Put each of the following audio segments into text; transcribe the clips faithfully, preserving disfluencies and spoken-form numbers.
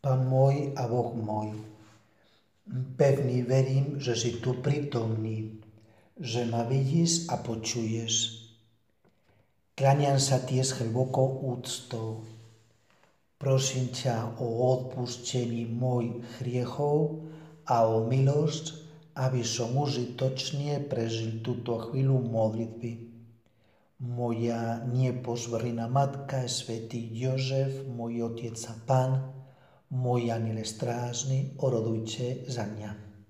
Pán môj a Boh môj, pevný verím, že si tu prítomný, že ma vidíš a počuješ. Kláňam sa ti s hlbokou úctou. Prosím ťa o odpustení mojich hriechov a o milosť, aby som užitočne prežil túto chvíľu modlitby. Moja nepozorná matka, svätý Jozef, môj otec a Pán, môj aniel strážny, orodujte za mňa.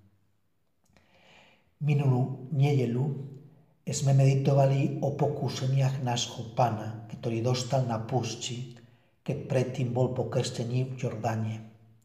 Minulú nedeľu sme meditovali o pokúšeniach nášho Pána, ktorý dostal na púšti, keď predtým bol pokrstený v Jordáne.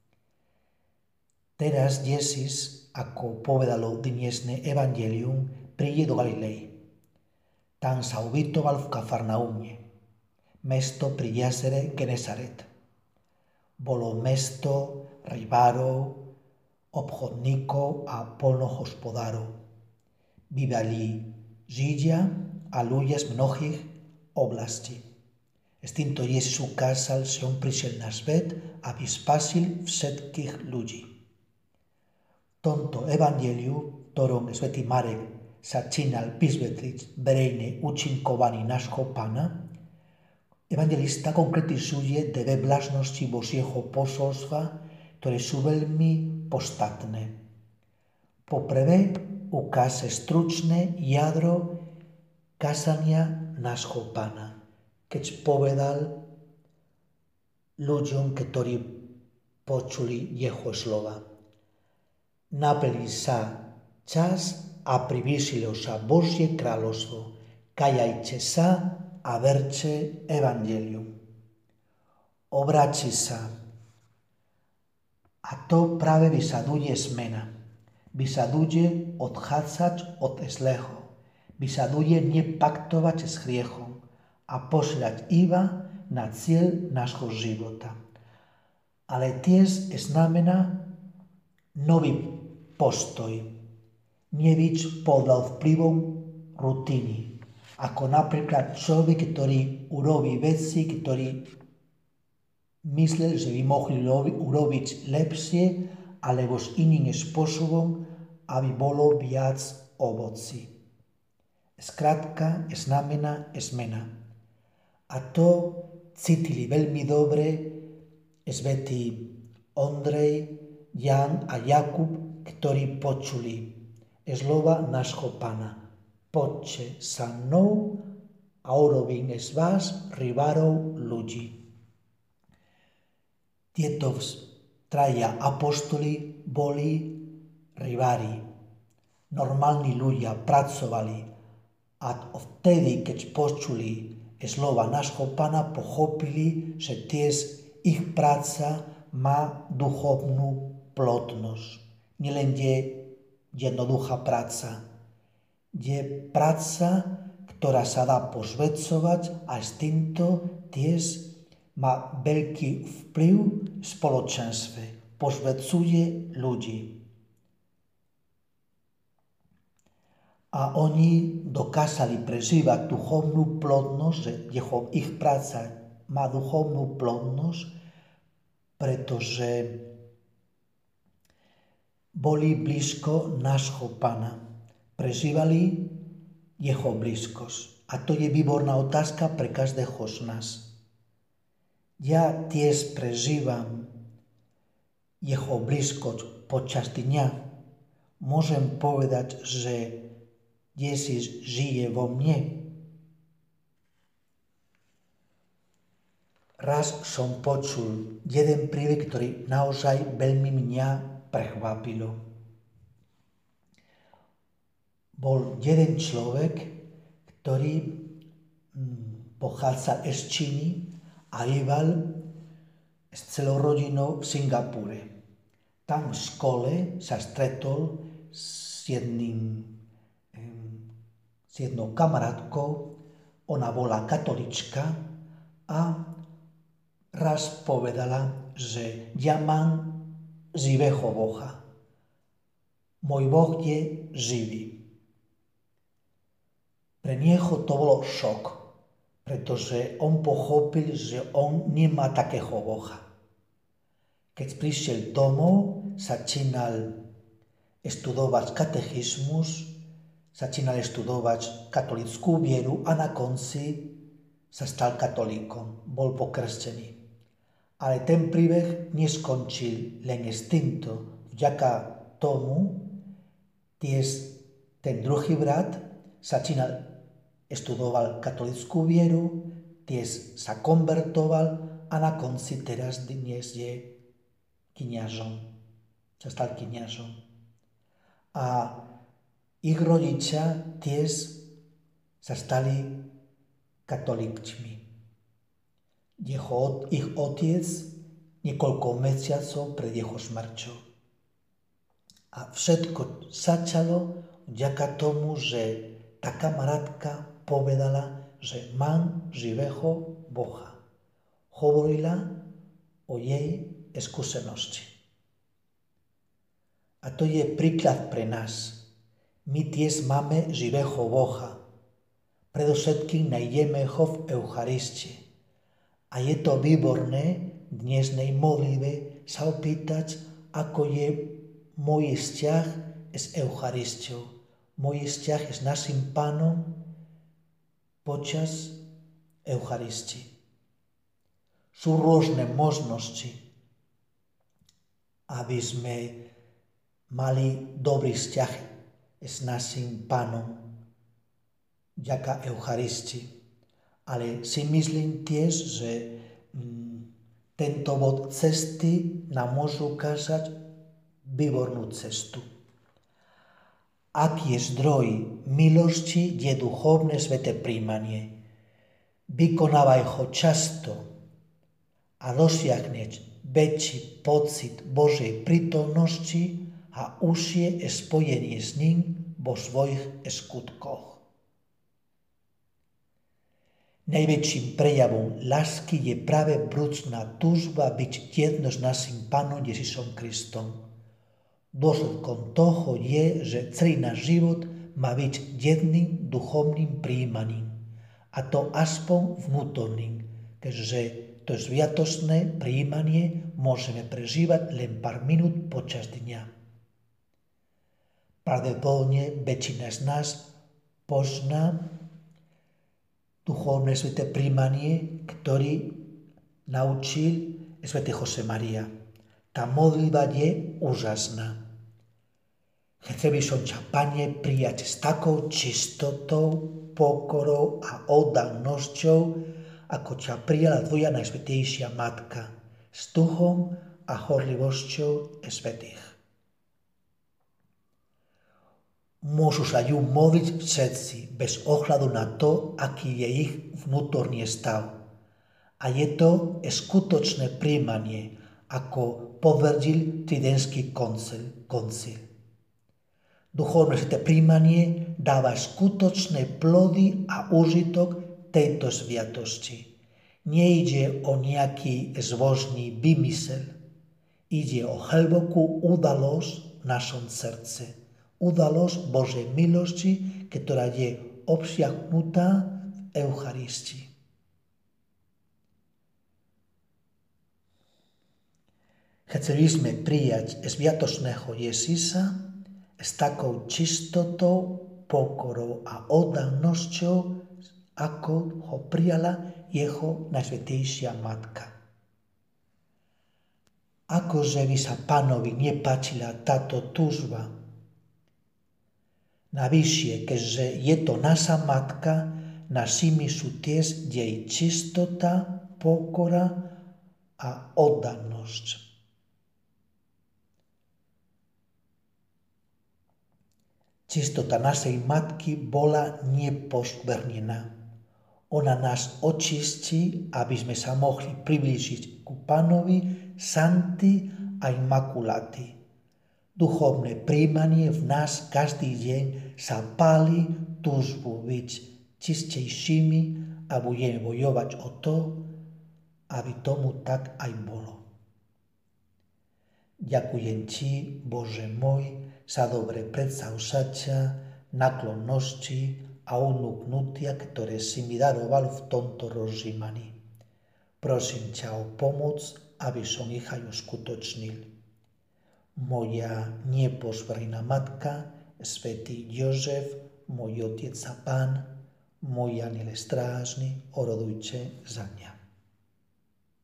Teraz Ježiš, ako povedalo dnesné evanjelium, príde do Galilei. Tam sa ubytoval v Kafarnaúme, mesto pri jazere Genesaret. Bolo mesto rybárov, obchodníkov a poľnohospodárov. Bývali Židia a ľudia z mnohých oblastí. S týmto Ježiš ukázal, že on prišiel na svet, aby spasil všetkých ľudí. V tomto evanjeliu, v ktorom svätý Marek začínal vysvetliť verejné účinkovanie nášho Pána, evangelista konkretizuje dve vlastnosti Božieho posolstva, ktoré sú veľmi podstatné. Poprvé, ukáže stručné jadro kázania nášho Pána, keď povedal ľuďom, ktorí počuli jeho slova. Naplní sa čas a priblížilo sa Božie kráľovstvo. Kajajte sa a verte evanjelium. Obráti sa. A to práve vyžaduje zmena. Vyžaduje odchádzať od zlého. Vyžaduje nepaktovať s hriechom a pozerať iba na cieľ nášho života. Ale tiež znamená nový postoj. Nebyť podľa vplyvom rutiny. Ako napríklad človek, ktorý urobí veci, ktorý myslel, že by mohli urobiť lepšie, alebo s iným spôsobom, aby bolo viac ovocí. Skrátka znamená zmena. A to cítili veľmi dobre svätí Ondrej, Jan a Jakub, ktorí počuli slova nášho Pána. Poďte sa mnou a urobím z vás rybárov ľudí. Tieto traja apostoli boli rybári. Normálni ľudia pracovali a vtedy, keď počuli slova nášho Pána, pochopili, že tiež ich práca má duchovnú plodnosť. Nielen je jednoduchá práca. Je práca, ktorá sa dá posvedcovať a s týmto tiež má veľký vplyv v spoločenstve. Posvedcuje ľudí. A oni dokázali prežívať duchovnú plodnosť, že jeho, ich práca má duchovnú plodnosť, pretože boli blízko nášho Pána. Prežívali jeho blízkosť. A to je výborná otázka pre každého z nás. Ja tiež prežívam jeho blízkosť počas dňa. Môžem povedať, že Ježiš žije vo mne. Raz som počul jeden príbeh, ktorý naozaj veľmi mňa prekvapilo. Bol jeden človek, ktorý pochádzal z Číny a býval s celou rodinou v Singapúre. Tam v škole sa stretol s, jedným, s jednou kamarátkou. Ona bola katolička a raz povedala, že ja mám živého Boha. Môj Boh je živý. Pre nieho to bolo šok, pretože on pochopil, že on nemá takého Boha. Keď prišiel domov, začínal študovať katechizmus, začínal študovať katolickú vieru a na konci sa stal katolíkom, bol pokrstený. Ale ten príbeh neskončil len s týmto. Vďaka tomu tiež ten druhý brat začínal študoval katolickú vieru, tiež sa konvertoval a na konci teraz dnes je kňazom. Sa stal kňazom. A ich rodičia tiež sa stali katolíkmi. Jeho, ich otec niekoľko mesiacov pred jeho smrťou. A všetko začalo vďaka tomu, že tá kamarátka povedala, že mám živého Boha. Hovorila o jej skúsenosti. A to je príklad pre nás. My tiež máme živého Boha. Predovšetkým nájdeme ho v Eucharistii. A je to výborné v dnešnej modlitbe sa opýtať, ako je môj vzťah s Eucharistiou, môj vzťah s našim Pánom počas Eucharistii. Sú rôzne možnosti, aby sme mali dobrý vzťah s našim Pánom vďaka Eucharistii. Ale si myslím tiež, že mm, tento bod cesty nám môže ukázať výbornú cestu. Aký je zdroj milosti, je duchovné sväté príjmanie. Vykonávaj ho často a dosiahneš väčší pocit Božej prítomnosti a užšie spojenie s ním vo svojich skutkoch. Najväčším prejavom lásky je práve vrúcna túžba byť jedno s našim Pánom Ježišom Kristom. Dôsledkom toho je, že celý náš život má byť jedným duchovným prijímaním, a to aspoň vnútorným, keďže to sviatočné prijímanie môžeme prežívať len pár minút počas dňa. Pravdepodobne väčšina z nás pozná duchovné sväté prijímanie, ktorý naučil svätý Josemaria. Tá modlitba je úžasná. Chcel by som ťa, Pane, prijať s takou čistotou, pokorou a oddanosťou, ako ťa prijala tvoja najsvätejšia Matka, s duchom a horlivosťou svätých. Môžu sa ju modliť všetci, bez ohľadu na to, aký je ich vnútorný stav. A je to skutočné prijímanie, ako potvrdil Tridentský koncil. koncil. Duchovné sväté prijímanie dáva skutočné plody a úžitok tejto sviatosti. Nejde o nejaký zbožný vymysel. Ide o hlbokú udalosť v našom srdce. Udalosť Božej milosti, ktorá je obsiahnutá v Eucharistii. Chceli sme prijať sviatočného Ježiša s takou čistotou, pokorou a oddanosťou, ako ho prijala jeho najsvätejšia Matka. Akože by sa Pánovi nepáčila táto túžba. Navyššie, keďže je to naša Matka, našimi sú tiež jej čistota, pokora a oddanosť. Čistota našej Matky bola nepoškvrnená. Ona nás očistí, aby sme sa mohli priblížiť ku Pánovi santi a immaculati. Duchovné prijímanie v nás každý deň sa páli túžbu byť čistejšími a budeme bojovať o to, aby tomu tak aj bolo. Ďakujem ti, Bože môj, za dobré predsavzatia, naklonnosti a unúknutia, ktoré si mi daroval v tomto rozjímaní. Prosím ťa o pomoc aby som ich aj uskutočnil. Moja neposvrhná matka, svätý Jozef, môj otec a pán, môj aniel strážny, orodujte za mňa.